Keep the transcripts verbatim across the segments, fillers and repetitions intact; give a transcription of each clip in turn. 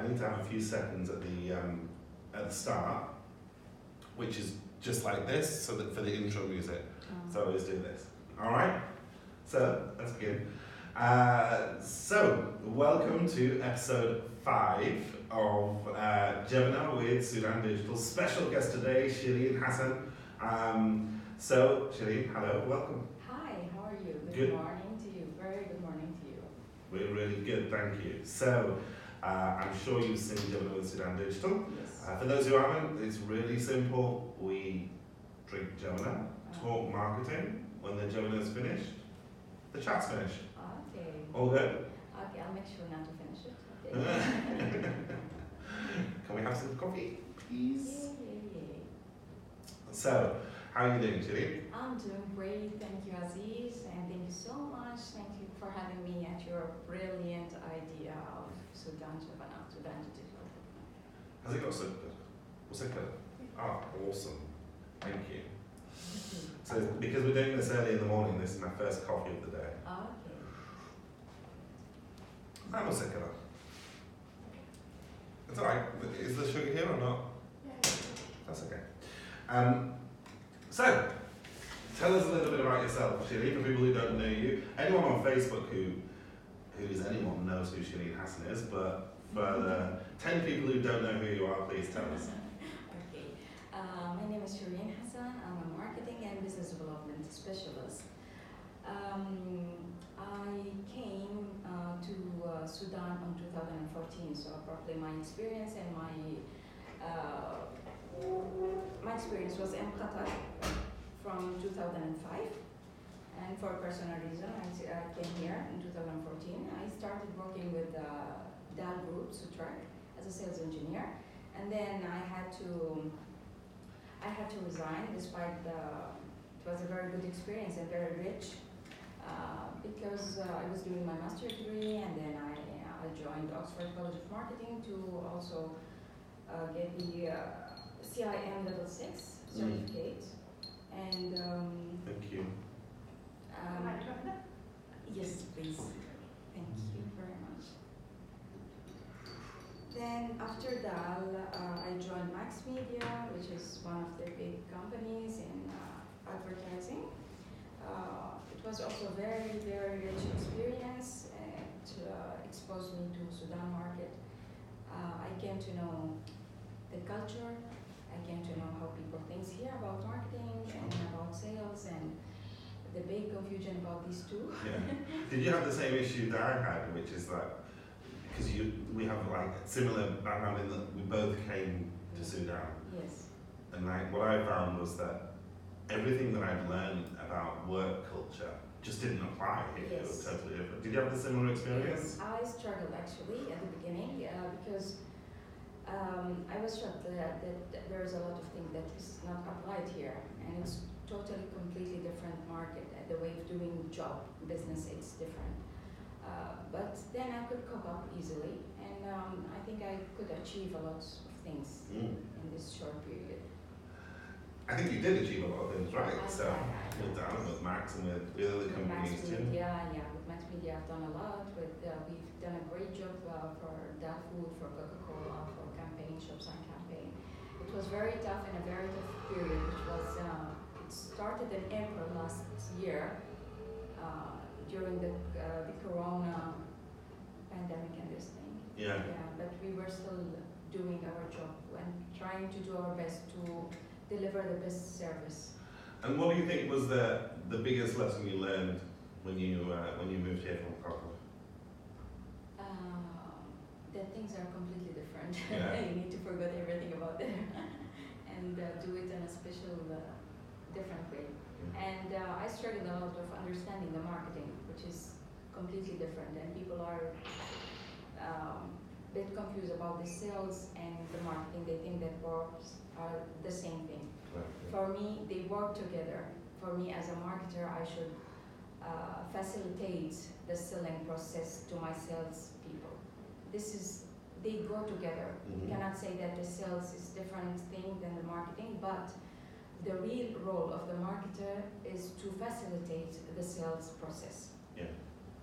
need to have a few seconds at the um, at the start, which is just like this, so that for the intro music. Um, So I always do this. All right. So let's begin. Uh, so welcome to episode five of uh, Gemini with Sudan Digital. Special guest today, Shireen Hassan. Um, so Shireen, hello, welcome. Hi, how are you? Good, Good. morning to you. Very good morning to you. We're really good, thank you. So uh, I'm sure you've seen Gemini with Sudan Digital. Yes. Uh, for those who haven't, it's really simple. We drink Gemini, talk marketing. When the Gemini is finished, the chat's finished. Okay. All good? Okay, I'll make sure not to finish it. Okay. Can we have some coffee, please? Yeah, yeah, yeah. So, how are you doing, Shireen? I'm doing great. Thank you, Aziz. And thank you so much. Thank you for having me at your brilliant idea of Sudan Javana, Sudan Digital. Has it got so good? What's it good? Ah, awesome. Thank you. So, because we're doing this early in the morning, this is my first coffee of the day. Okay. I'm a sick of it. It's alright. Is the sugar here or not? Yeah. That's okay. Um, so, tell us a little bit about yourself, Shireen, for people who don't know you. Anyone on Facebook who who is anyone knows who Shireen Hassan is, but for the ten people who don't know who you are, please tell us. Okay. Uh, my name is Shireen Hassan. I'm a marketing and business development specialist. Um, I came uh, to uh, Sudan in two thousand fourteen, so probably my experience and my uh, my experience was in Qatar from two thousand five, and for a personal reason, I, I came here in two thousand fourteen. I started working with uh, D A L Group, Sutrak, as a sales engineer, and then I had to I had to resign despite the it was a very good experience and very rich. Uh, because uh, I was doing my master's degree, and then I, I joined Oxford College of Marketing to also uh, get the uh, C I M level six certificate. Mm. And um, Thank you. Um, yes, please. Thank you very much. Then after D A L, uh, I joined Max Media, which is one of the big companies in uh, advertising. Uh, it was also a very, very rich experience. It uh, exposed me to Sudan market. Uh, I came to know the culture. I came to know how people think here about marketing and about sales, and the big confusion about these two. Yeah. Did you have the same issue that I had, which is that because you we have like similar background in that we both came to Sudan, Yes. and like what I found was that everything that I'd learned about work culture just didn't apply here. It was Yes. totally different. Did you have the similar experience? Yes, I struggled actually at the beginning uh, because um, I was shocked that, that there's a lot of things that is not applied here, and it's totally completely different market. The way of doing job business, it's different. Uh, but then I could cope up easily, and um, I think I could achieve a lot of things Mm. in this short period. I think you did achieve a lot of things, right? I- So I- I- with Dan, with Max, and with, with other With companies Max too. Media, yeah, with Max Media I've done a lot. With uh, we've done a great job uh, for D A L Food, for Coca-Cola, for campaign, Shops on Campaign. It was very tough and a very tough period, which was uh, it started in April last year uh, during the uh, the Corona pandemic and this thing. Yeah. Yeah, but we were still doing our job and trying to do our best to deliver the best service. And what do you think was the the biggest lesson you learned when you uh, when you moved here from Krakow? Uh, that things are completely different. Yeah. You need to forget everything about there and uh, do it in a special, uh, different way. Yeah. And uh, I struggled a lot of understanding the marketing, which is completely different, and people are um, a bit confused about the sales and the marketing. They think that works are the same thing. Right. For me, they work together. For me, as a marketer, I should uh, facilitate the selling process to my sales people. This is, they go together. Mhm. You cannot say that the sales is different thing than the marketing, but the real role of the marketer is to facilitate the sales process. Yeah.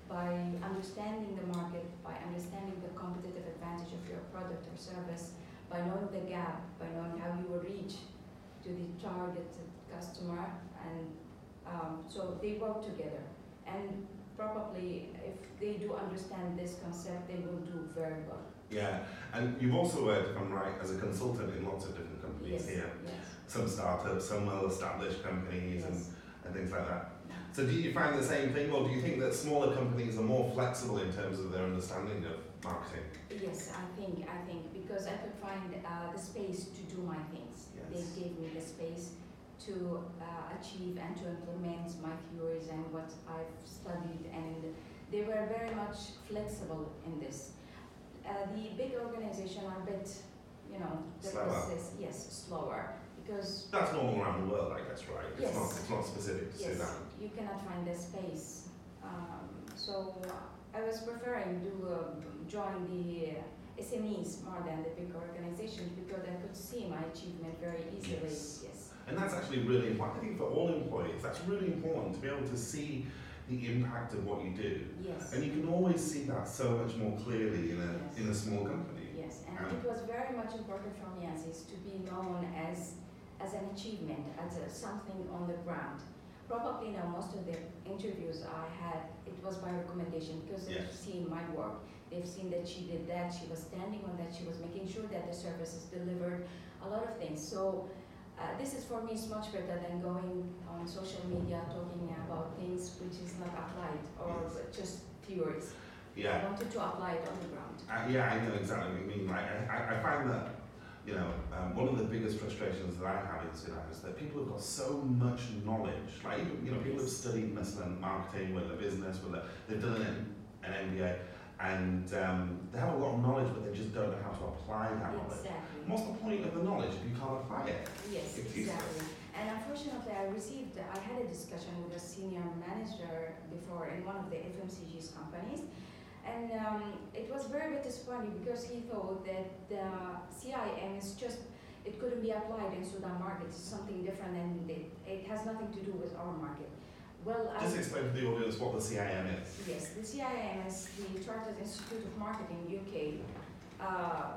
by understanding the market, by understanding the competitive advantage of your product or service, by knowing the gap, by knowing how you will reach to the targeted customer, and um, so they work together. And probably if they do understand this concept, they will do very well. Yeah, and you've also worked, if I'm right, as a consultant in lots of different companies Yes, here. yes, Some startups, some well-established companies, and, yes. and things like that. So do you find the same thing, or do you think that smaller companies are more flexible in terms of their understanding of marketing? Yes, I think, I think, because I could find uh, the space to do my things. Yes. They gave me the space to uh, achieve and to implement my theories and what I've studied, and they were very much flexible in this. Uh, the big organizations are a bit, you know, the Slower. process, yes, slower, because That's normal around the world, I guess, right? It's Yes. not, it's not specific to yes, Sudan. you cannot find the space. Um, so I was preferring to uh, join the S M Es more than the big organizations because I could see my achievement very easily. Yes. Yes. And that's actually really important. I think for all employees, that's really important to be able to see the impact of what you do. Yes. And you can always see that so much more clearly in a, Yes. in a small company. Yes, and Um, it was very much important for me as is to be known as as an achievement, as a, something on the ground. Probably now most of the interviews I had, it was by recommendation because they've Yes. seen my work. They've seen that she did that, she was standing on that, she was making sure that the service is delivered, a lot of things. So uh, this is for me is much better than going on social media talking about things which is not applied or Yes. just theories. I Yeah, wanted to apply it on the ground. uh, yeah, I know exactly what you mean. Like, I, I, I find that, you know, um, one of the biggest frustrations that I have in Sudan is that people have got so much knowledge. Like, even, you know, people have studied Muslim marketing, whether business, whether they've done an, an M B A, and um, they have a lot of knowledge, but they just don't know how to apply that knowledge. Exactly. What's the point of the knowledge if you can't apply it? Yes, It's exactly. And unfortunately, I received, I had a discussion with a senior manager before in one of the F M C G's companies. And um, it was very bit disappointing because he thought that the C I M is just, it couldn't be applied in Sudan market. It's something different and it, it has nothing to do with our market. Well, I, Just explain to the audience what the C I M is. yes, the C I M is the Chartered Institute of Marketing U K uh, uh,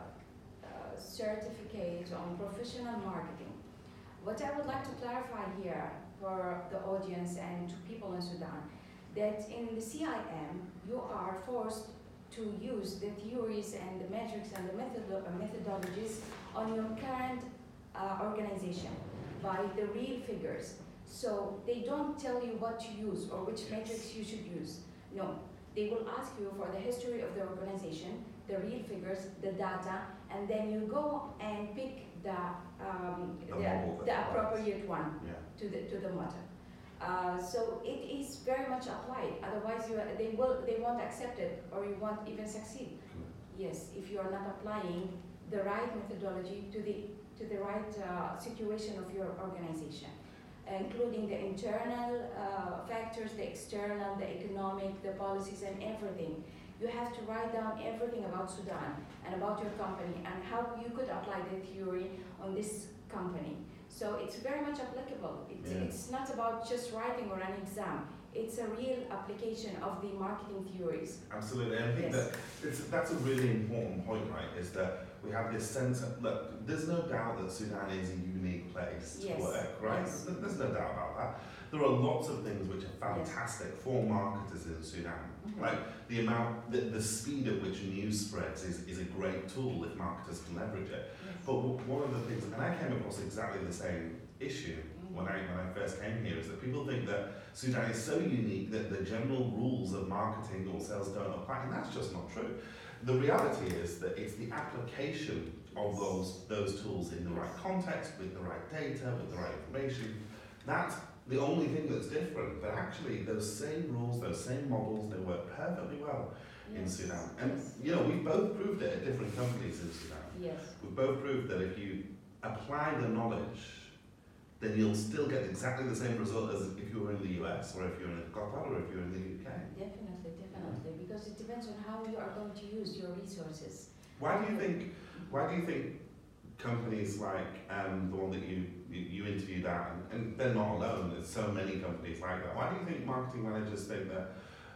certificate on professional marketing. What I would like to clarify here for the audience and to people in Sudan, that in the C I M you are forced to use the theories and the metrics and the method methodologies on your current uh, organization by the real figures. So they don't tell you what to use or which Yes. metrics you should use. No, they will ask you for the history of the organization, the real figures, the data, and then you go and pick the um, The the, model that the applies. appropriate one Yeah. to the to the matter. Uh, so it is very much applied. Otherwise, you they will they won't accept it or you won't even succeed. Yes, if you are not applying the right methodology to the to the right uh, situation of your organization, including the internal uh, factors, the external, the economic, the policies, and everything. You have to write down everything about Sudan and about your company and how you could apply the theory on this company. So it's very much applicable. It, Yeah. It's not about just writing or an exam. It's a real application of the marketing theories. Absolutely, and I think Yes. that it's, that's a really important point, right? Is that we have this sense of, look, there's no doubt that Sudan is a unique place to Yes, work, right? yes. There's, there's no doubt about that. There are lots of things which are fantastic for marketers in Sudan. Mhm. Like the amount, the, the speed at which news spreads is, is a great tool if marketers can leverage it. Yes. But w- one of the things, and I came across exactly the same issue when I when I first came here, is that people think that Sudan is so unique that the general rules of marketing or sales don't apply, and that's just not true. The reality is that it's the application of those those tools in the right context, with the right data, with the right information. That's the only thing that's different. But actually, those same rules, those same models, they work perfectly well in Yes. Sudan. And Yes. you know, we've both proved it at different companies in Sudan. Yes. We've both proved that if you apply the knowledge, then you'll still get exactly the same result as if you were in the U S or if you're in Qatar or if you're in the U K. Definitely, definitely, because it depends on how you are going to use your resources. Why do you think? Why do you think companies like um, the one that you, you you interviewed at, and, and they're not alone. There's so many companies like that. Why do you think marketing managers think that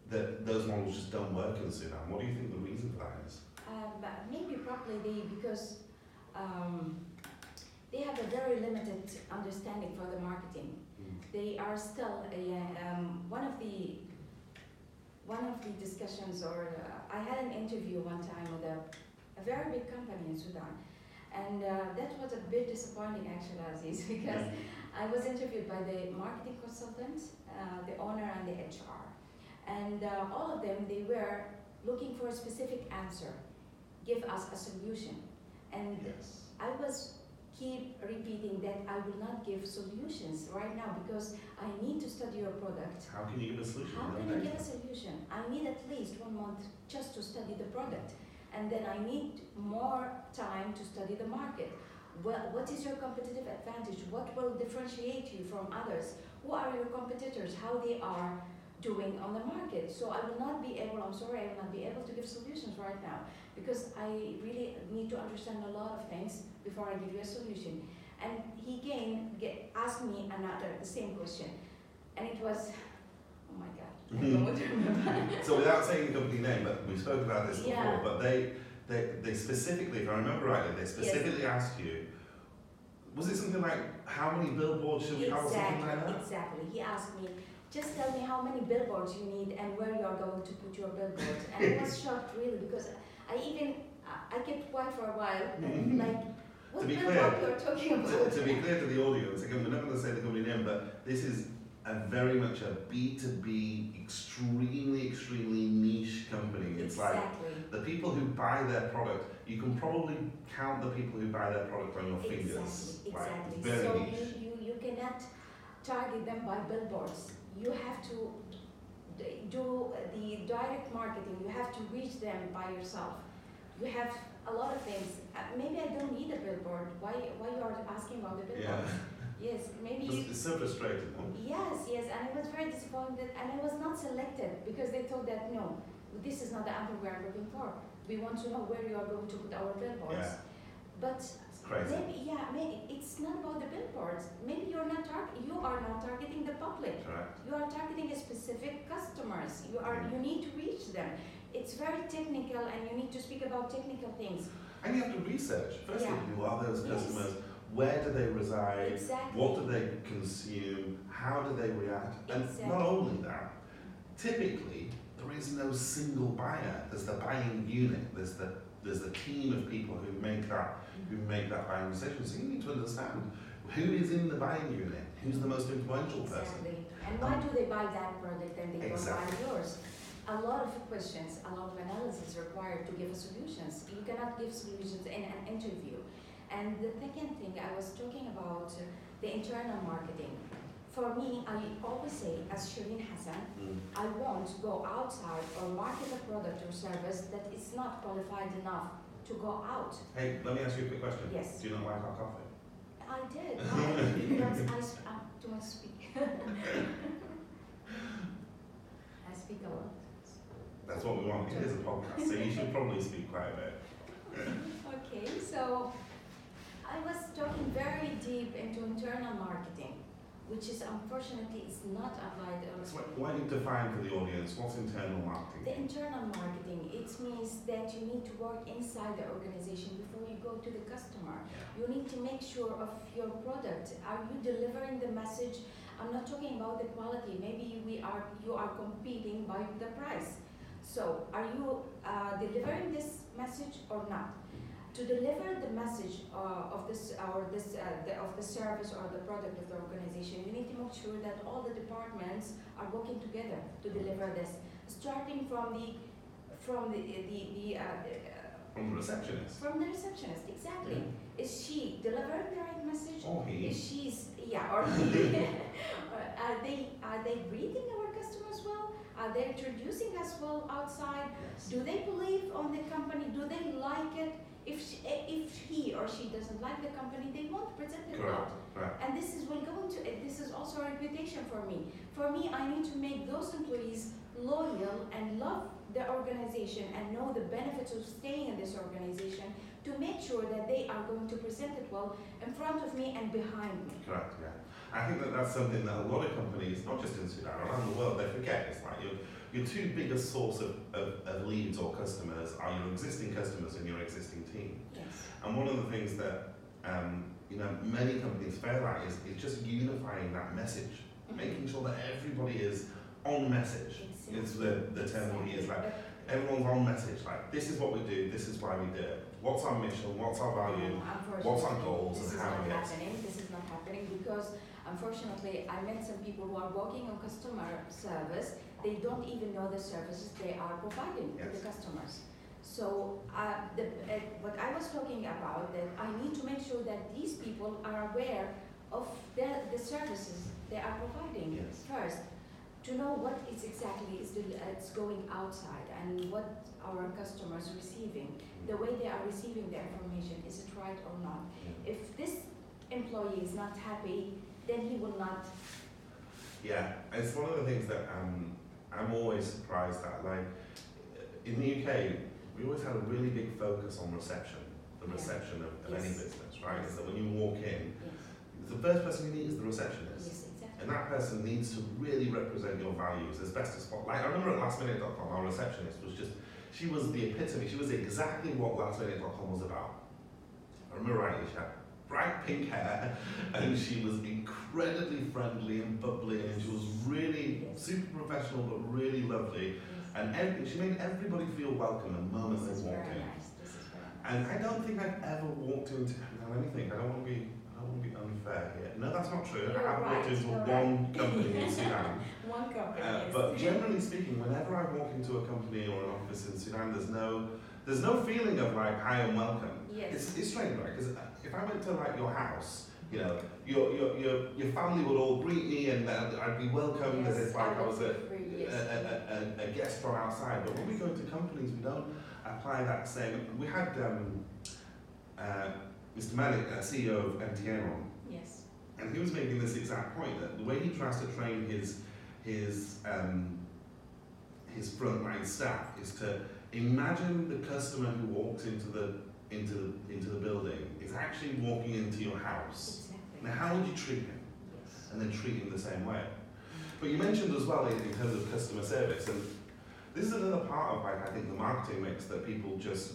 that those models just don't work in Sudan. What do you think the reason for that is? Uh, but maybe probably they because um, they have a very limited understanding for the marketing. Mm. They are still a, um, one of the one of the discussions, or uh, I had an interview one time with a, a very big company in Sudan, and uh, that was a bit disappointing actually, Aziz, because I was interviewed by the marketing consultant, uh, the owner, and the H R, and uh, all of them they were looking for a specific answer. Give us a solution. And Yes. I was keep repeating that I will not give solutions right now because I need to study your product. How can you give a solution? How No can you data. give a solution? I need at least one month just to study the product. And then I need more time to study the market. Well, what is your competitive advantage? What will differentiate you from others? Who are your competitors? How they are doing on the market? So I will not be able, I'm sorry, I will not be able to give solutions right now because I really need to understand a lot of things before I give you a solution. And he again get, asked me another, the same question. And it was, oh my God, I don't know what to remember. So without saying the company name, but we spoke about this before, Yeah. but they, they, they specifically, if I remember rightly, they specifically asked you, was it something like, how many billboards should we have, or something like Exactly, that? exactly. He asked me, just tell me how many billboards you need and where you are going to put your billboards. And I was shocked really because I even, I I kept quiet for a while, and like, what To be billboard clear, you're talking To, about? to be clear to the audience, again, we're not going to say the company name, but this is a very much a B two B, extremely, extremely niche company. It's like Exactly. the people who buy their product, you can probably count the people who buy their product on your fingers. Exactly, Like, exactly. very So niche. you, you, you cannot target them by billboards. You have to d- do the direct marketing. You have to reach them by yourself. You have a lot of things. Uh, maybe I don't need a billboard. Why, why you are asking about the billboard? Yeah. Yes, maybe It's, you, it's so frustrating. huh? yes, yes, and I was very disappointed, and I was not selected because they thought that no, this is not the answer we are looking for. We want to know where you are going to put our billboards. Yeah. But It's crazy. maybe, yeah, maybe it's not about the billboards. Maybe you're not tar- you are not targeting the public. Correct. You are targeting a specific customers. You are Mm. you need to reach them. It's very technical, and you need to speak about technical things. And you have to research. Firstly, Yeah. who are those Yes. customers? Where do they reside? Exactly. What do they consume? How do they react? And Exactly. not only that, typically there is no single buyer. There's the buying unit. There's the there's the team of people who make that who make that buying decision. So you need to understand who is in the buying unit. Who's the most influential person? Exactly. And why do they buy that product and they Exactly. don't buy yours? A lot of questions, a lot of analysis required to give solutions. You cannot give solutions in an interview. And the second thing, I was talking about uh, the internal marketing. For me, I always say, as Shireen Hassan, Mm. I won't go outside or market a product or service that is not qualified enough to go out. Hey, let me ask you a quick question. Yes. Do you not like our coffee? I did. I, that's, I, sp- uh, too much speak. I speak a lot. That's what we want. It is a podcast, so you should probably speak quite a bit. Okay, so I was talking very deep into internal marketing, which is unfortunately is not applied. So why- why don't you define for the audience what's internal marketing? The internal marketing, it means that you need to work inside the organization before you go to the customer. You need to make sure of your product. Are you delivering the message? I'm not talking about the quality. Maybe we are you are competing by the price. So are you uh, delivering this message or not? To deliver the message uh, of this or this uh, the, of the service or the product of the organization, you need to make sure that all the departments are working together to deliver this. Starting from the from the the, the uh, uh, From the receptionist. from the receptionist, exactly. Is she delivering the right message? Or he. Is she's yeah, or he. Or are they are they greeting our customers well? Are they introducing us well outside? Yes. Do they believe on the company? Do they like it? If she, if he or she doesn't like the company, they won't present it well. Correct. Correct. And this is will go into it. This is also a reputation for me. For me, I need to make those employees loyal and love the organization and know the benefits of staying in this organization to make sure that they are going to present it well in front of me and behind me. Correct, yeah. I think that that's something that a lot of companies, not just in Sudan, around the world, they forget. It's like you your two biggest source of, of, of leads or customers are your existing customers and your existing team. Yes. And one of the things that um, you know many companies fail at is, is just unifying that message, Mhm. making sure that everybody is on message. Exactly. Is the, the term we use. Like But, everyone's on message. Like this is what we do. This is why we do it. What's our mission? What's our value? um, What's our unfortunately, goals this and is how not we get- happening. This is not happening because unfortunately I met some people who are working on customer service. They don't even know the services they are providing to Yes. the customers. So uh, the, uh, what I was talking about, that I need to make sure that these people are aware of the, the services they are providing Yes. first, to know what is exactly is the, uh, it's going outside and what our customers receiving, the way they are receiving the information, is it right or not? Yeah. If this employee is not happy, then he will not. Yeah, it's one of the things that um, I'm always surprised at. Like in the U K, we always had a really big focus on reception, the Yeah. reception of, of any Yes. business, right? Yes. Is that when you walk in, Yes. the first person you meet is the receptionist. Yes, exactly. And that person needs to really represent your values as best as possible. Like I remember at last minute dot com, our receptionist was just, she was the epitome, she was exactly what last minute dot com was about. I remember rightly, she had bright pink hair and she was incredibly friendly and bubbly and she was really Yes. super professional but really lovely. Yes. And every, she made everybody feel welcome the moment This is they walked very in. nice. This is very nice. And I don't think I've ever walked into, now let me think, I don't want to be, I don't want to be unfair here. No, that's not true. You're I have right, walked into you're one right. company in Sudan. One company. Uh, yes. but generally speaking, whenever I walk into a company or an office in Sudan, there's no, there's no feeling of like hi and welcome. Yes. It's, it's strange, right? Because if I went to like your house, you know, your your your, your family would all greet me and uh, I'd be welcomed as Yes, if like I was a, free, a, yes. a, a, a guest from outside. But when we go into companies, we don't apply that same. We had um, uh, Mister Malik, uh, C E O of M T N, on. Yes. And he was making this exact point that the way he tries to train his his um, his frontline staff is to imagine the customer who walks into the into the, into the building is actually walking into your house. Exactly. Now, how would you treat him? Yes. And then treat him the same way. But you mentioned as well in, in terms of customer service, and this is another part of like I think the marketing mix that people just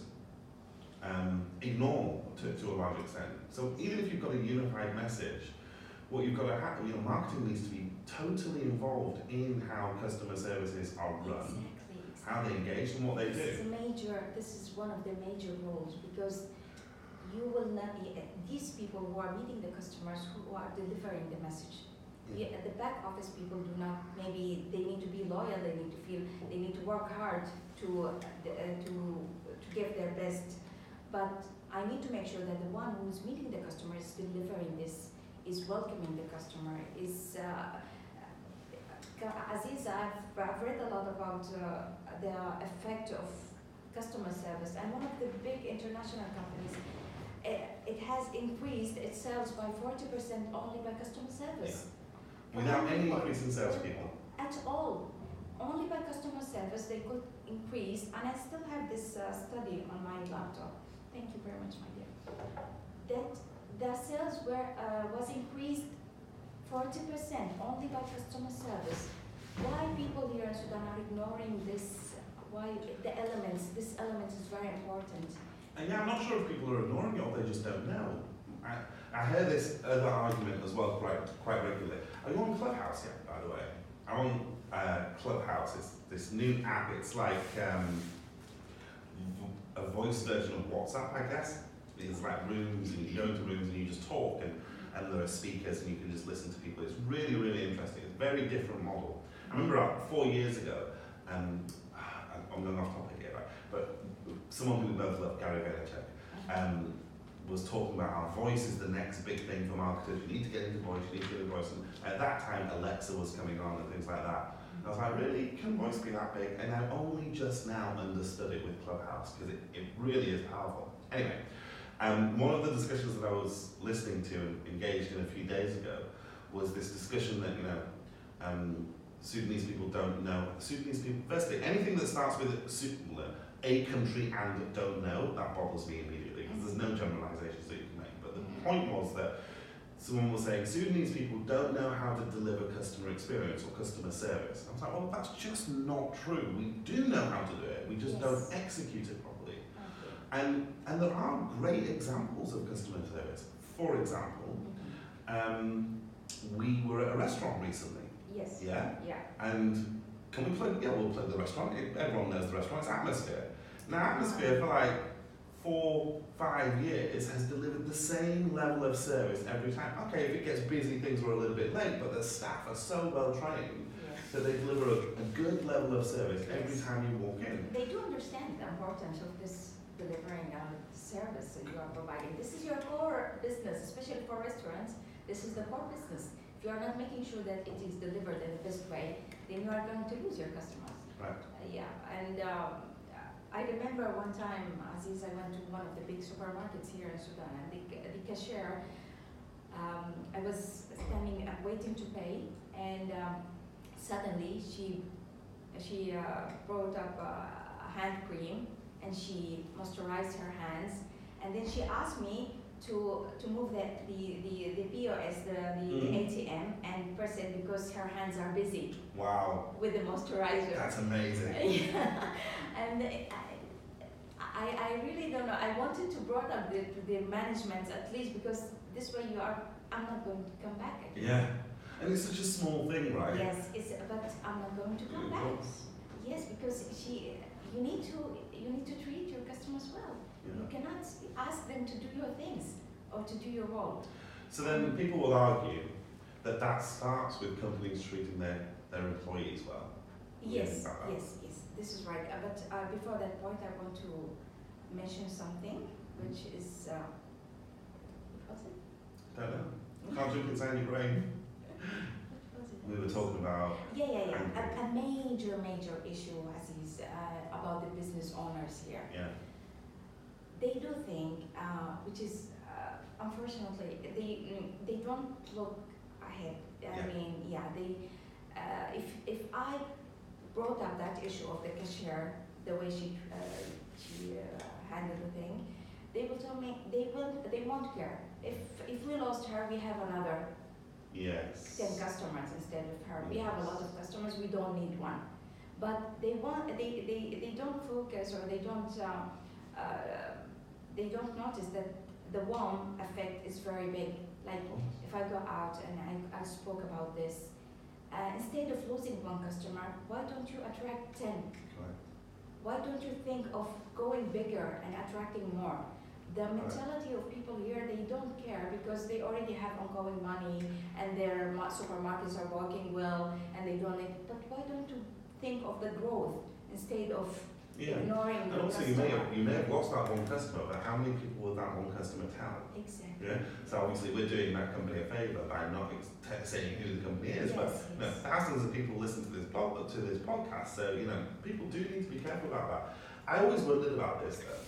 um, ignore to, to a large extent. So even if you've got a unified message, what you've got to have, you know, marketing needs to be totally involved in how customer services are run, Exactly. how they engage, and what they This is do. a major. This is one of the major roles because you will not be these people who are meeting the customers who are delivering the message. The, the back office people do not. Maybe they need to be loyal. They need to feel. They need to work hard to uh, to to give their best. But I need to make sure that the one who's meeting the customer is delivering this, is welcoming the customer, is. Uh, Aziz, I've, I've read a lot about uh, the effect of customer service, and one of the big international companies, it, it has increased its sales by forty percent only by customer service. Without any People- increase in salespeople. At all. Only by customer service they could increase, and I still have this uh, study on my laptop. Thank you very much, my dear. That the sales were uh, was increased forty percent only by customer service. Why people here in Sudan are ignoring this? Why the elements? This element is very important. And yeah, I'm not sure if people are ignoring it or they just don't know. I, I hear this other argument as well quite quite regularly. Are you on Clubhouse yet, by the way? I'm on uh, Clubhouse. It's this new app. It's like um, v- a voice version of WhatsApp, I guess. It's like rooms, and you go into rooms and you just talk, and, and there are speakers, and you can just listen to people. It's really, really interesting. It's a very different model. I remember uh, four years ago, um, I'm going off topic here, right? But someone who we both love, Gary Vaynerchuk, um, was talking about how voice is the next big thing for marketers. You need to get into voice, you need to get into voice. And at that time, Alexa was coming on and things like that. And I was like, really? Can voice be that big? And I only just now understood it with Clubhouse, because it, it really is powerful. Anyway, um, one of the discussions that I was listening to and engaged in a few days ago was this discussion that, you know, um, Sudanese people don't know. Sudanese people, firstly, anything that starts with a, a country and don't know, that bothers me immediately, because there's no generalizations that you can make. But the point was that someone was saying Sudanese people don't know how to deliver customer experience or customer service. I was like, well, that's just not true. We do know how to do it. We just Yes. don't execute it properly. Okay. And and there are great examples of customer service. For example, Mhm. um, we were at a restaurant recently. Yes. Yeah. Yeah. And can we plug? Yeah, we'll plug the restaurant. Everyone knows the restaurant. It's Atmosphere. Now, Atmosphere for like four, five years has delivered the same level of service every time. Okay, if it gets busy, things were a little bit late, but the staff are so well trained Yes. that they deliver a, a good level of service every Yes. time you walk in. They do understand the importance of this delivering uh, service that you are providing. This is your core business, especially for restaurants. This is the core business. If you are not making sure that it is delivered in the best way, then you are going to lose your customers. Right. Uh, yeah, and um, I remember one time, Aziz, I went to one of the big supermarkets here in Sudan, and the, the cashier, um, I was standing, uh, waiting to pay, and um, suddenly she she uh, brought up uh, a hand cream, and she moisturized her hands, and then she asked me to to move the the, the, the P O S, the, the, Mm. the A T M, and press it because her hands are busy Wow, with the moisturizer. that's amazing. Yeah. And I, I, I really don't know. I wanted to brought up the, the management at least, because this way you are, I'm not going to come back again. Yeah, and it's such a small thing, right? Yes, it's, but I'm not going to come Yeah, of back. course. Yes, because she, you need to, you need to treat your customers well. You Yeah. cannot ask them to do your things or to do your role. So then people will argue that that starts with companies treating their, their employees well. Yes, Yeah, uh, yes, yes, this is right. Uh, but uh, before that point, I want to mention something, which is, uh, what was it? Don't know. Can't drink inside your brain. What was it? We were talking about. Yeah, yeah, yeah. Angry. A, a major, major issue, Aziz, uh, about the business owners here. Yeah. They do think, uh, which is, uh, unfortunately, they mm, they don't look ahead. I Yeah. mean, yeah, they. Uh, if if I brought up that issue of the cashier, the way she uh, she uh, handled the thing, they will tell me they will they won't care. If if we lost her, we have another Yes. ten customers instead of her. We have a lot of customers, we don't need one. But they want, they, they, they don't focus, or they don't, uh, uh, they don't notice that the warm effect is very big. Like if I go out and I, I spoke about this, uh, instead of losing one customer, why don't you attract ten? Right. Why don't you think of going bigger and attracting more? The mentality of people here, they don't care because they already have ongoing money and their ma- supermarkets are working well and they don't need, but why don't you think of the growth instead of Yeah. ignoring And the also, customer? you may have you may have lost that one customer, but how many people will that one customer tell? Exactly. Yeah. So obviously, we're doing that company a favour by not ex- te- saying who the company is, but Yes, you know, yes. thousands of people listen to this pod, to this podcast. So you know, people do need to be careful about that. I always wondered about this though.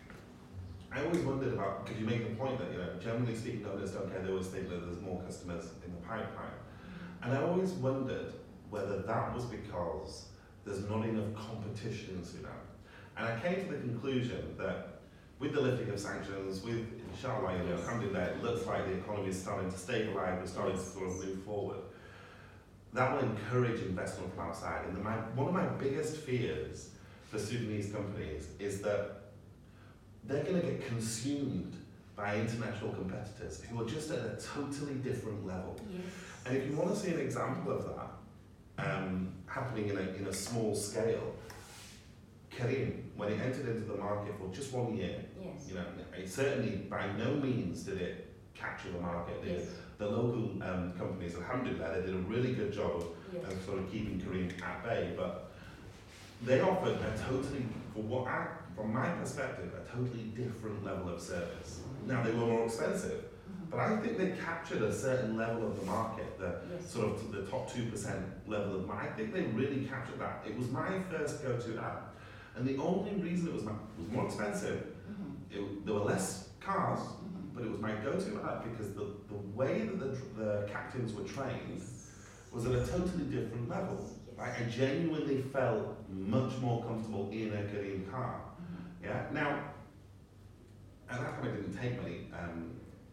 I always wondered about, because you make the point that, you know, generally speaking, owners don't care, they always think that there's more customers in the pipeline. And I always wondered whether that was because there's not enough competition in Sudan. And I came to the conclusion that with the lifting of sanctions, with inshallah, you know, Yes. alhamdulillah, it looks like the economy is starting to stabilise, we're starting to Yes. sort of move forward. That will encourage investment from outside. And the, my, one of my biggest fears for Sudanese companies is that they're going to get consumed by international competitors who are just at a totally different level. Yes. And if you want to see an example of that um, happening in a, in a small scale, Karim, when it entered into the market for just one year, Yes. you know, it certainly by no means did it capture the market. The, Yes. the local um, companies, alhamdulillah, they did a really good job of, Yes. of sort of keeping Karim at bay, but they offered a totally, for what I, from my perspective, a totally different level of service. Now they were more expensive, Mhm. but I think they captured a certain level of the market, the Yes. sort of the top two percent level of market. I think they really captured that. It was my first go-to app, and the only reason it was my, it was more expensive. Mhm. It, there were less cars, Mhm. but it was my go-to app because the, the way that the, the captains were trained was at a totally different level. Yes. Like, I genuinely felt much more comfortable in a Korean car. Mhm. Yeah. Now, at that time, I didn't take many um,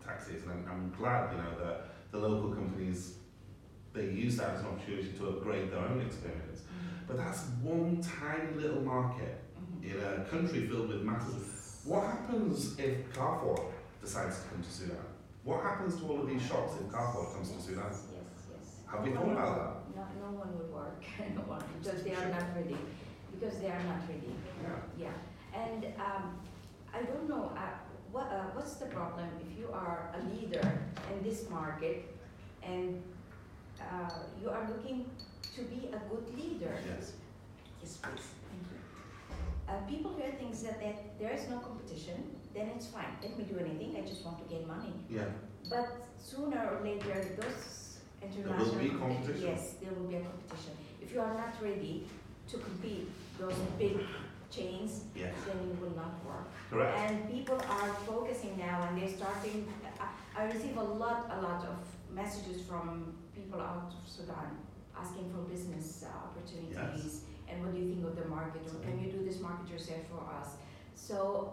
taxis, and I'm, I'm glad, you know, that the local companies, they use that as an opportunity to upgrade their own experience. Mm-hmm. But that's one tiny little market Mm-hmm. in a country filled with masses. What happens if Carrefour decides to come to Sudan? What happens to all of these shops if Carrefour comes to Sudan? Yes, yes, yes. Have we No thought one about will- that? No, no one will work, no one, because they are Sure. not ready, because they are not ready. Yeah. Yeah, and um, I don't know, uh, what, uh, what's the problem if you are a leader in this market and uh, you are looking to be a good leader? Yes. Yes, please. Thank you. Uh, people hear things that, that there is no competition, then it's fine. Let me do anything, I just want to gain money. Yeah. But sooner or later, those There international will be competi- competition. Yes, there will be a competition. If you are not ready to compete those big chains, Yes. then it will not work. Correct. And people are focusing now, and they're starting. I, I receive a lot, a lot of messages from people out of Sudan asking for business uh, opportunities. And what do you think of the market? Or can you do this market yourself for us? So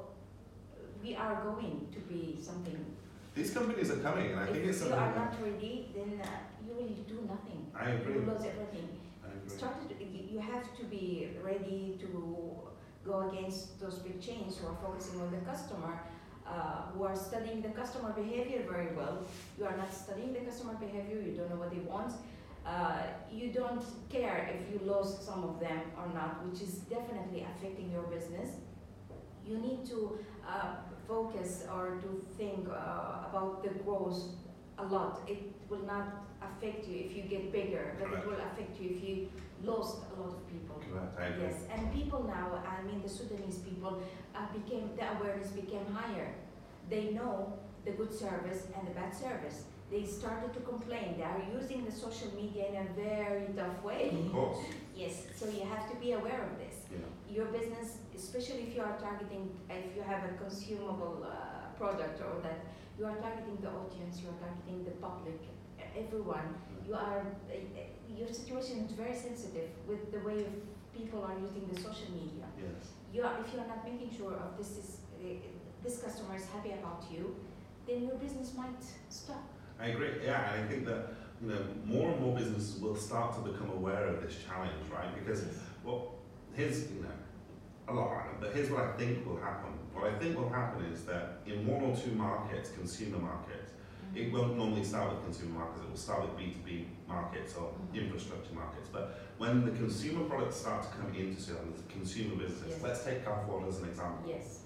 we are going to be something. These companies are coming, and I think it's If you something are that- not ready, then uh, you will do nothing. I agree. You will lose everything. I agree. Started, you you have to be ready to go against those big chains who are focusing on the customer, uh, who are studying the customer behavior very well. You are not studying the customer behavior, you don't know what they want. Uh, you don't care if you lose some of them or not, which is definitely affecting your business. You need to uh, focus or to think uh, about the growth a lot. It will not affect you if you get bigger, but Correct. it will affect you if you lost a lot of people. Correct. I agree. Yes, and people now, I mean the Sudanese people, uh, became, the awareness became higher. They know the good service and the bad service. They started to complain. They are using the social media in a very tough way. Of course. Yes, so you have to be aware of this. Yeah. Your business, especially if you are targeting, if you have a consumable uh, product or that you are targeting the audience, you are targeting the public, everyone, you are, uh, your situation is very sensitive with the way of people are using the social media. Yes. You are, if you are not making sure of this is, uh, this customer is happy about you, then your business might stop. I agree. Yeah, and I think that, you know, more and more businesses will start to become aware of this challenge, right? Because, well, here's, you know, a lot random, but here's what I think will happen. What I think will happen is that in one or two markets, consumer markets, it won't normally start with consumer markets, it will start with B two B markets or Mhm. infrastructure markets. But when the consumer products start to come into Sudan, the consumer businesses, Yes. let's take Carrefour as an example. Yes.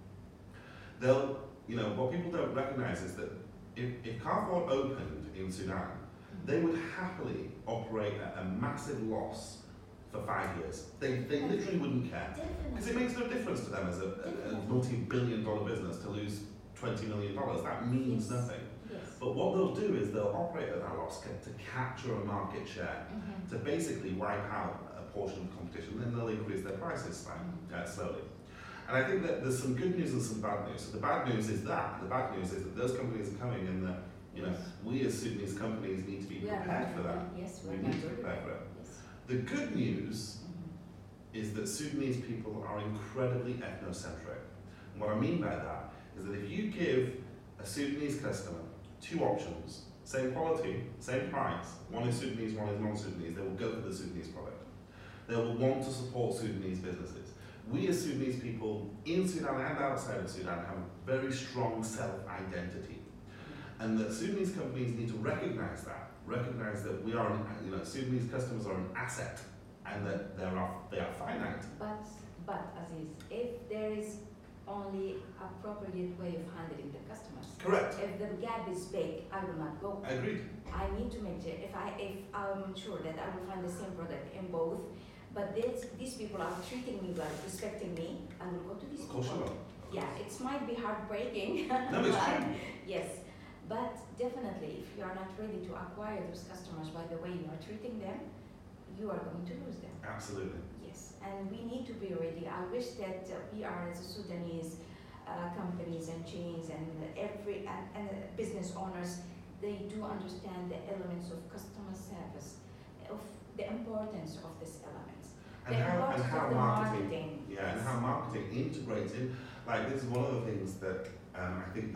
They'll, you know, what people don't recognize is that if, if Carrefour opened in Sudan, they would happily operate at a massive loss for five years. They, they literally wouldn't care. Because it Definitely. makes no difference to them as a, a, a multi-billion dollar business to lose twenty million dollars. That means Yes. nothing. Yes. But what they'll do is they'll operate at that loss ca- to capture a market share, Mhm. to basically wipe out a portion of the competition, then they'll increase their prices slightly, uh, slowly. And I think that there's some good news and some bad news. So the bad news is that, the bad news is that those companies are coming and that, you know, Yes. we as Sudanese companies need to be We are prepared not for that. ready. Yes, We we're need not to ready. prepare for it. Yes. The good news Mhm. is that Sudanese people are incredibly ethnocentric. And what I mean by that is that if you give a Sudanese customer two options, same quality, same price, one is Sudanese, one is non-Sudanese, they will go for the Sudanese product. They will want to support Sudanese businesses. We as Sudanese people in Sudan and outside of Sudan have a very strong self-identity. And that Sudanese companies need to recognize that, recognize that we are, an, you know, Sudanese customers are an asset and that they are, they are finite. But, but Aziz, if there is only appropriate way of handling the customers, Correct. if the gap is big, I will not go. I agree. I need to make sure, if I, if I'm sure that I will find the same product in both, but this, these people are treating me well, respecting me, I will go to these Of course you people. will. Yeah, it might be heartbreaking. No, it's but- true. Yes, but definitely, if you are not ready to acquire those customers by the way you are treating them, you are going to lose them. Absolutely. Yes, and we need to be ready. I wish that uh, we are as a Sudanese uh, companies and chains and every and, and uh, business owners, they do understand the elements of customer service, of the importance of these elements. And the how, and importance how of the marketing, marketing. yeah, and how marketing integrates in. Like, this is one of the things that um, I think that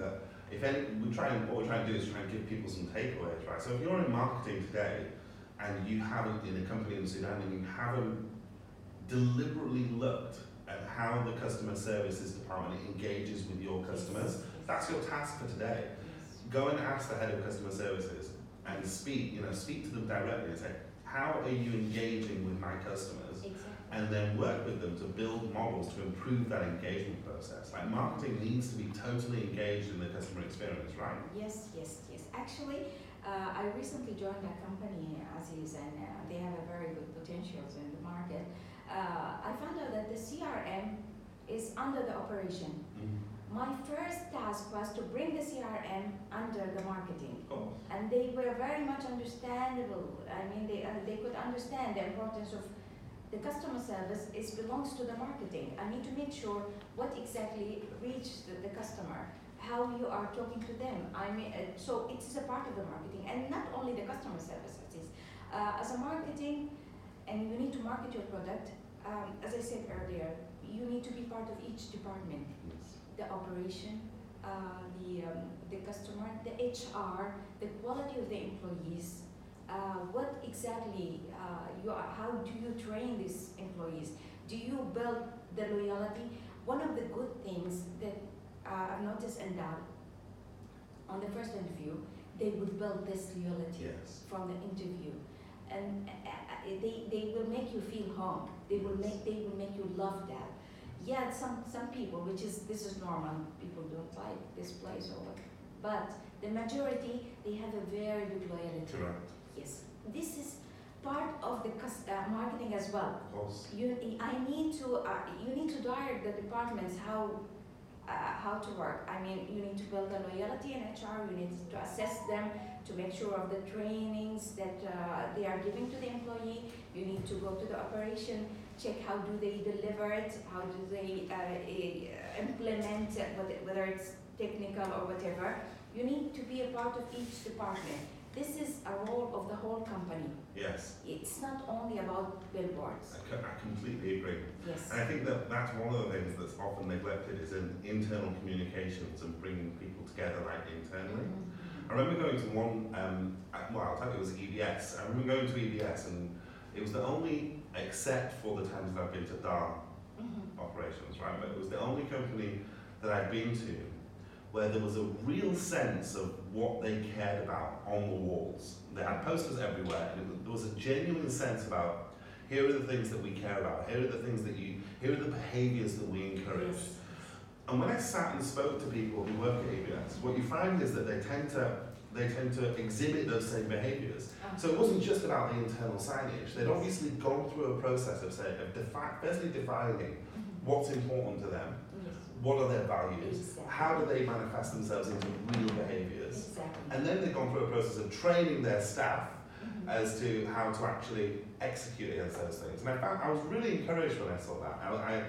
if any, we try and, what we're trying to do is try and give people some takeaways, right? So if you're in marketing today and you haven't, in a company in Sudan, and you haven't deliberately looked at how the customer services department engages with your customers, that's your task for today. Go and ask the head of customer services and speak, you know, speak to them directly and say, how are you engaging with my customers? Exactly. And then work with them to build models to improve that engagement process. Like marketing needs to be totally engaged in the customer experience, right? Yes, yes, yes. Actually, uh, I recently joined a company, Aziz, and uh, they have a very good potentials in the market. Uh, I found out that the C R M is under the operation. Mm-hmm. My first task was to bring the C R M under the marketing. Oh. And they were very much understandable. I mean, they, uh, they could understand the importance of the customer service is belongs to the marketing. I need to make sure what exactly reaches the, the customer, how you are talking to them. I mean, uh, so it is a part of the marketing, and not only the customer service. It is uh, as a marketing, and you need to market your product. Um, as I said earlier, you need to be part of each department: Yes. the operation, uh, the um, the customer, the H R, the quality of the employees. Uh, what exactly uh, you are, how do you train these employees? Do you build the loyalty? One of the good things that uh, I've noticed in that, on the first interview, they would build this loyalty Yes. from the interview, and uh, uh, they, they will make you feel home. They will make they will make you love that. Yeah, some some people, which is this is normal. People don't like this place or what, but the majority they have a very good loyalty. Correct. Yes, this is part of the cus- uh, marketing as well. Of course. You, I need to, uh, you need to direct the departments how, uh, how to work. I mean, you need to build a loyalty in H R. You need to assess them to make sure of the trainings that uh, they are giving to the employee. You need to go to the operation, check how do they deliver it, how do they uh, uh, implement it, whether it's technical or whatever. You need to be a part of each department. This is a role of the whole company. Yes. It's not only about billboards. I, co- I completely agree. Yes. And I think that that's one of the things that's often neglected is in internal communications and bringing people together like internally. Mhm. I remember going to one, um, uh, well, I'll tell you, it was E B S. I remember going to E B S and it was the only, except for the times that I've been to D A R Mhm. operations, right? But it was the only company that I'd been to where there was a real sense of what they cared about on the walls. They had posters everywhere, and it was, there was a genuine sense about, here are the things that we care about, here are the things that you, here are the behaviours that we encourage. Yes. And when I sat and spoke to people who work at E B S, what you find is that they tend to, they tend to exhibit those same behaviours. Uh, So it wasn't just about the internal signage. They'd obviously gone through a process of, say, of defi- firstly defining mhm. what's important to them, Yes. what are their values, Exactly. how do they manifest themselves into real behaviours, Exactly. and then they've gone through a process of training their staff Mhm. as to how to actually execute against those things. And I found I was really encouraged when I saw that. I, I,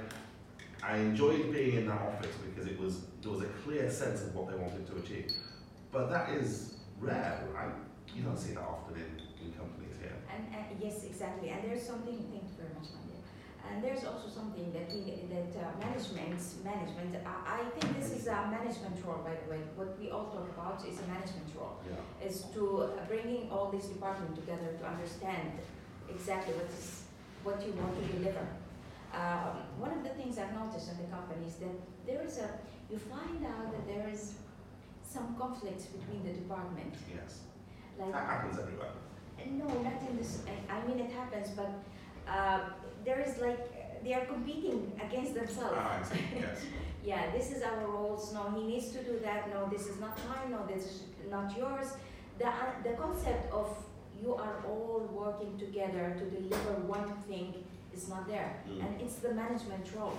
I enjoyed being in that office because it was there was a clear sense of what they wanted to achieve. But that is rare, right? You don't see that often in, in companies here. And, and yes, exactly. And there's something. Thank you very much, Mandy. And there's also something that we that uh, management management. I, I think this is a management role, by the way. What we all talk about is a management role. Yeah. Is to uh, bringing all these departments together to understand exactly what is what you want to deliver. Um, one of the things I've noticed in the company is that there is a you find out that there is some conflicts between the departments. Yes. Like That happens everywhere. no, not in this. I, I mean, it happens, but uh, there is like they are competing against themselves. Ah, I see. Yes. Yeah, this is our roles. No, he needs to do that. No, this is not mine. No, this is not yours. The uh, the concept of you are all working together to deliver one thing is not there, Mm. and it's the management role.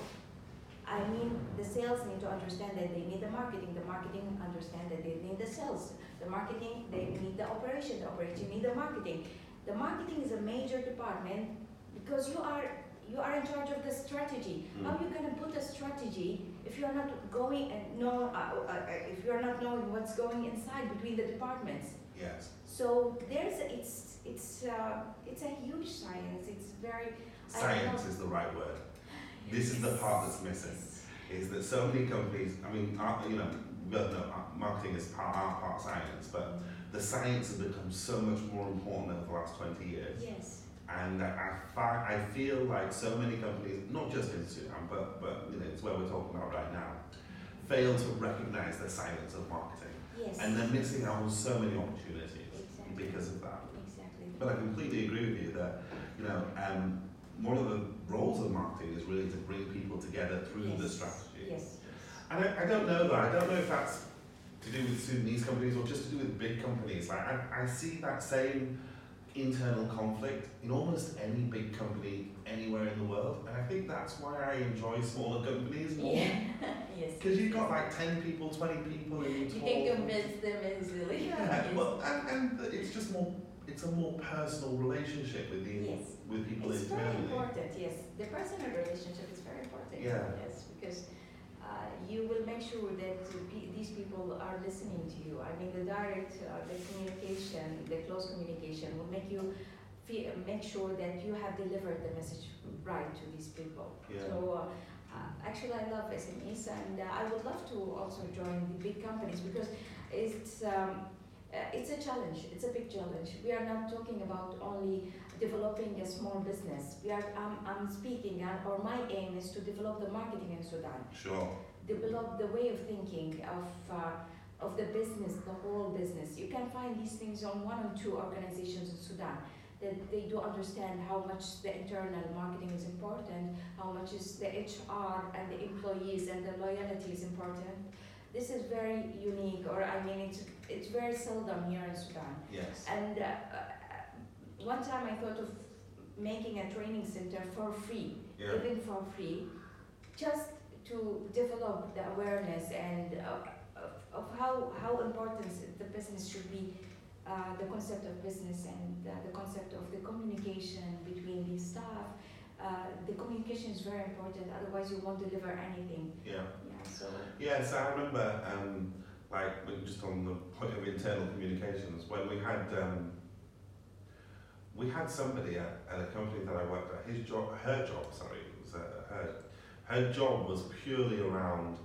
I mean, the sales need to understand that they need the marketing. The marketing understand that they need the sales. The marketing, they need the operation. The operation need the marketing. The marketing is a major department because you are you are in charge of the strategy. Mm. How are you going to put a strategy if you are not going and know uh, uh, if you are not knowing what's going inside between the departments? Yes. So there's it's it's uh, it's a huge science. It's very I don't Science know. is the right word. This is the part that's missing. is that so many companies, I mean, art, you know, we both know art- marketing is part art, part science, but the science has become so much more important over the last twenty years. Yes. And I, fi- I feel like so many companies, not just in Sudan, but, but you know, it's where we're talking about right now, fail to recognize the science of marketing. Yes. And they're missing out on so many opportunities Exactly. because of that. Exactly. But I completely agree with you that, you know, um, one of the roles of marketing is really to bring people together through Yes. the strategy. Yes. And I, I don't know though, I don't know if that's to do with Sudanese companies or just to do with big companies. Like I, I see that same internal conflict in almost any big company anywhere in the world, and I think that's why I enjoy smaller companies more. Yeah. Yes. Because you've got like ten people, twenty people in You talk. can convince them easily. Yeah, Yes. well, and, and it's just more, it's a more personal relationship with the Yes. with people It's very internally. important, yes. The personal relationship is very important. Yeah. Yes, because uh, you will make sure that uh, pe- these people are listening to you. I mean, the direct, uh, the communication, the close communication will make you feel, make sure that you have delivered the message right to these people. Yeah. So, uh, uh, actually, I love S M Es, and uh, I would love to also join the big companies because it's um, uh, it's a challenge. It's a big challenge. We are not talking about only developing a small business. We are. Um, I'm speaking, uh, or my aim is to develop the marketing in Sudan. Sure. Develop the way of thinking of uh, of the business, the whole business. You can find these things on one or two organizations in Sudan that they do understand how much the internal marketing is important, how much is the H R and the employees and the loyalty is important. This is very unique, or I mean, it's it's very seldom here in Sudan. Yes. And uh, uh, one time I thought of making a training center for free, Yeah. even for free, just to develop the awareness and uh, of, of how, how important the business should be, uh, the concept of business and uh, the concept of the communication between the staff. Uh, the communication is very important, otherwise you won't deliver anything. Yeah. Yeah, so. Yeah, so I remember, um, like, when- just on the point of internal communications, when we had, um, we had somebody at, at a company that I worked at, his job, her job, sorry, it was uh, her, her job was purely around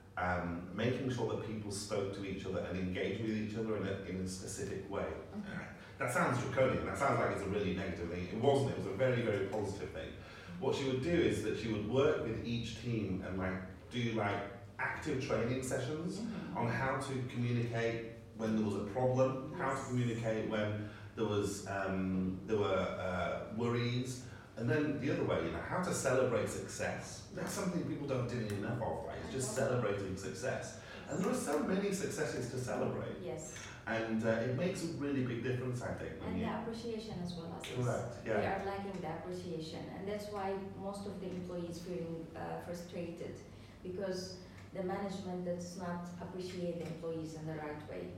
um, making sure that people spoke to each other and engaged with each other in a, in a specific way. Mhm. That sounds draconian, that sounds like it's a really negative thing. It wasn't, it was a very, very positive thing. What she would do is that she would work with each team and like do like active training sessions Mhm. on how to communicate when there was a problem, how to Yes. communicate when there was um, there were uh, worries, and then the other way, you know, how to celebrate success. That's something people don't do enough of, right? It's just celebrating success, and there are so many successes to celebrate, Yes, and uh, it makes a really big difference, I think. When and you, the appreciation as well as this. correct, They yeah, are lacking the appreciation, and that's why most of the employees feeling uh, frustrated because the management does not appreciate the employees in the right way.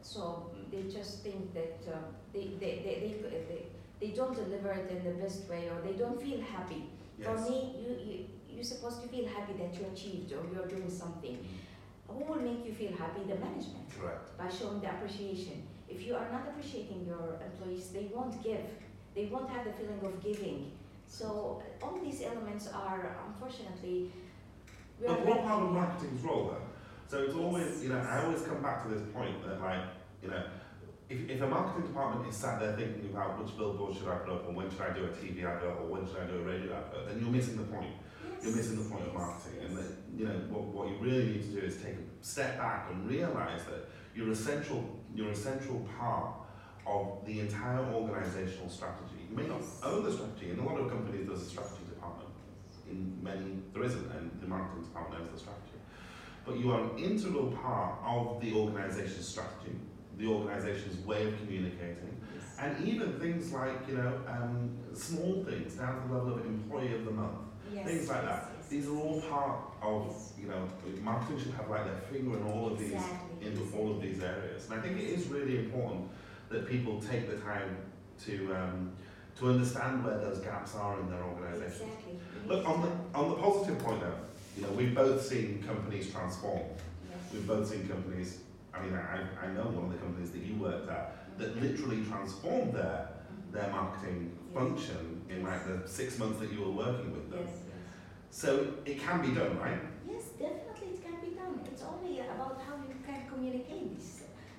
So they just think that uh, they, they, they, they, they, they don't deliver it in the best way, or they don't feel happy. For yes, me, you, you, you're supposed to feel happy that you achieved or you're doing something. Who will make you feel happy? The management, correct, by showing the appreciation. If you are not appreciating your employees, they won't give. They won't have the feeling of giving. So all these elements are, unfortunately, we are but what part of lacking. marketing's role though? So it's always, Yes, you know, I yes. always come back to this point that like, you know, if, if a marketing department is sat there thinking about which billboard should I put up and when should I do a T V advert or when should I do a radio advert, then you're missing the point. Yes, You're missing the point of yes, marketing. yes. And that, you know, what, what you really need to do is take a step back and realise that you're essential, you're a central part of the entire organisational strategy. You may not Yes. own the strategy. In a lot of companies there's a strategy department. In many there isn't, and the marketing department owns the strategy. But you are an integral part of the organisation's strategy, the organisation's way of communicating, Yes. and even things like, you know, um, small things down to the level of employee of the month, Yes, things like yes, that. yes, These are yes, all yes. part of, Yes. you know, marketing should have like their finger in all of these, Exactly, into all of exactly. these areas. And I think it is really important that people take the time to um, to understand where those gaps are in their organisations. Exactly. We Look, need on the to- on the positive point though, you know, we've both seen companies transform. Yes. We've both seen companies, I mean, I, I know one of the companies that you worked at that literally transformed their, their marketing Yes. function in like the six months that you were working with them. Yes, yes. So it can be done, right? Yes, But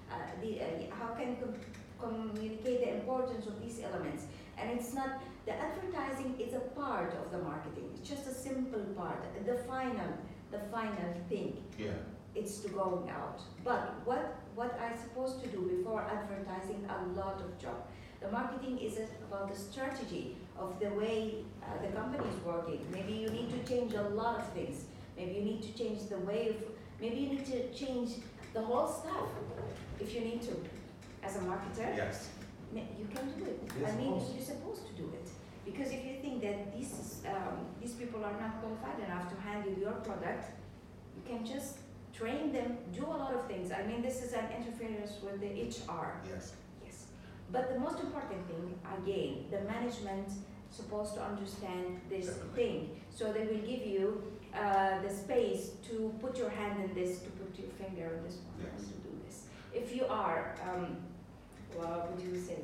uh, the, uh, how can com- communicate the importance of these elements. And it's not, the advertising is a part of the marketing. It's just a simple part. The final, the final thing. Yeah. It's to going out. But what what I'm supposed to do before advertising, a lot of job. The marketing is about the strategy of the way uh, the company is working. Maybe you need to change a lot of things. Maybe you need to change the way of, maybe you need to change the whole stuff if you need to. As a marketer, Yes. you can do it. Yes, I of mean, course. you're supposed to do it. Because if you think that these, um, these people are not qualified enough to handle your product, you can just train them, do a lot of things. I mean, this is an interference with the H R. Yes. Yes. But the most important thing, again, the management supposed to understand this Definitely. thing. So they will give you uh, the space to put your hand in this, to put your finger on this one, Yes. and to do this. If you are, um, what would you say?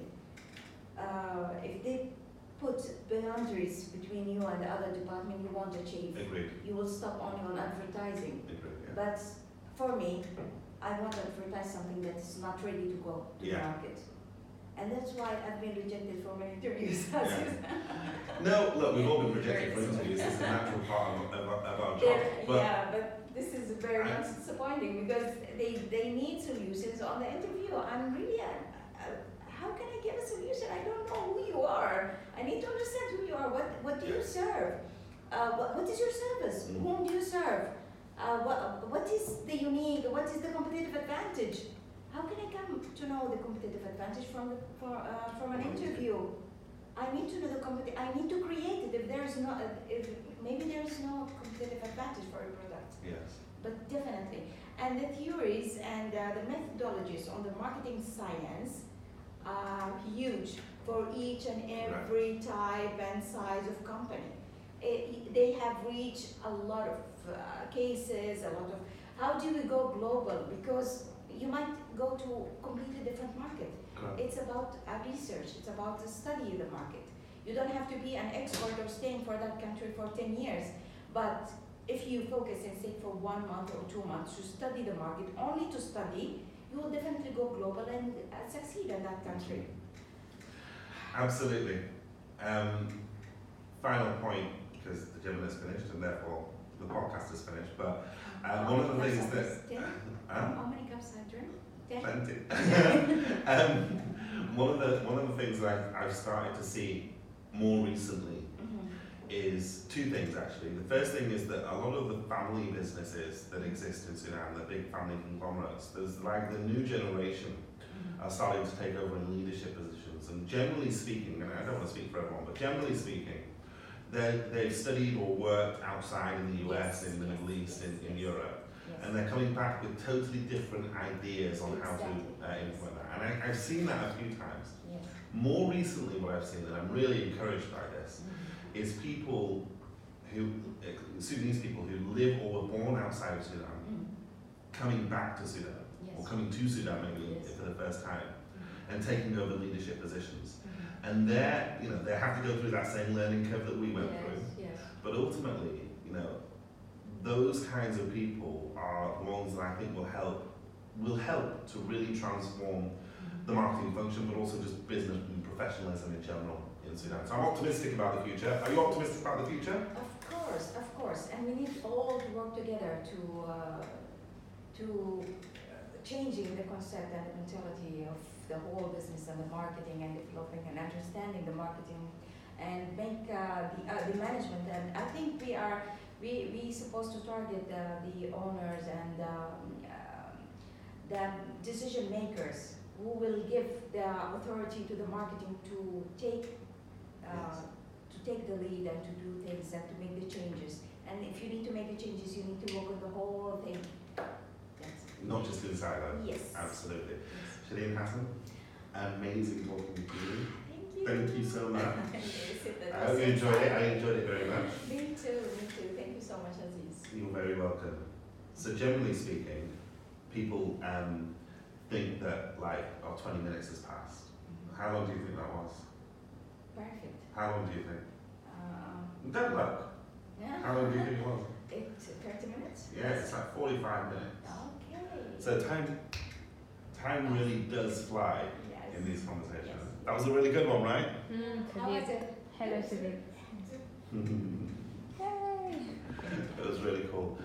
Uh, if they put boundaries between you and the other department, you won't achieve. Agreed. You will stop only on advertising. Agreed. Yeah. But for me, I want to advertise something that's not ready to go to Yeah. the market. And that's why I've been rejected for many interviews. as Yeah. you said. No, look, we've all been rejected for Very interviews. It's a natural part of, of, of our job. They're- But yeah, but this is very I- much disappointing because they, they need solutions on the interview. I'm really, uh, uh, how can I give a solution? I don't know who you are. I need to understand who you are. What, what do you Yeah. serve? Uh, what, what is your service? Mm. Whom do you serve? Uh, what, what is the unique, what is the competitive advantage? How can I come to know the competitive advantage from, the, for, uh, from an interview? I need to know the competi- I need to create it. If there is no, uh, if maybe there is no competitive advantage for a product, yes. but definitely. And the theories and uh, the methodologies on the marketing science are huge for each and every type and size of company. It, they have reached a lot of uh, cases, a lot of. How do we go global? Because you might go to a completely different market. Correct. It's about a research, it's about to study the market. You don't have to be an expert or staying for that country for ten years, but if you focus and say for one month or two months to study the market, only to study, you will definitely go global and uh, succeed in that country. Absolutely. Um, final point, because the gym is finished and therefore the podcast is finished, but uh, one of the things that... Ten? Um, How many cups I drink? Ten? Plenty. um, one of the one of the things that I've, I've started to see more recently Mhm. is two things actually. The first thing is that a lot of the family businesses that exist in Sudan, the big family conglomerates, there's like the new generation Mhm. are starting to take over in leadership positions. And generally speaking, and I don't want to speak for everyone, but generally speaking, they they've studied or worked outside in the U S, Yes, in the yes, Middle East, in, in yes. Europe. Yes. And they're coming back with totally different ideas on how to uh, implement that. And I, I've seen that a few times. Yes. More recently, what I've seen, and I'm really encouraged by this, Mhm. is people who, uh, Sudanese people who live or were born outside of Sudan, Mhm. coming back to Sudan, or Yes. coming to Sudan maybe Yes. for the first time, Mhm. and taking over leadership positions. Mhm. And they're, you know, they have to go through that same learning curve that we went through. Yes, yes. But ultimately, you know, those kinds of people are the ones that I think will help will help to really transform the marketing function, but also just business and professionalism in general in Sudan. So I'm optimistic about the future. Are you optimistic about the future? Of course, of course, and we need all to work together to uh, to changing the concept and the mentality of the whole business and the marketing and developing and understanding the marketing and make uh, the uh, the management. And I think we are we we supposed to target uh, the owners and um, uh, the decision makers who will give the authority to the marketing to take. Uh, Yes. to take the lead and to do things and to make the changes. And if you need to make the changes, you need to work on the whole thing. That's Not just inside out. Yes. Absolutely. Yes. Shireen Hassan, amazing talking to you. Thank you. Thank you so much. Yes, it I hope you was enjoyed it. I exciting. enjoyed it very much. Me too, me too. Thank you so much, Aziz. You're very welcome. So generally speaking, people um, think that like, oh, twenty minutes has passed. How long do you think that was? Perfect. How long do you think? Um, Don't look. yeah. How long do you think it was? It's thirty minutes? Yeah, it's like forty-five minutes. Okay. So time time really does fly Yes. in these conversations. Yes. That was a really good one, right? Mm, How was it? Hello, Sudip. It was really cool.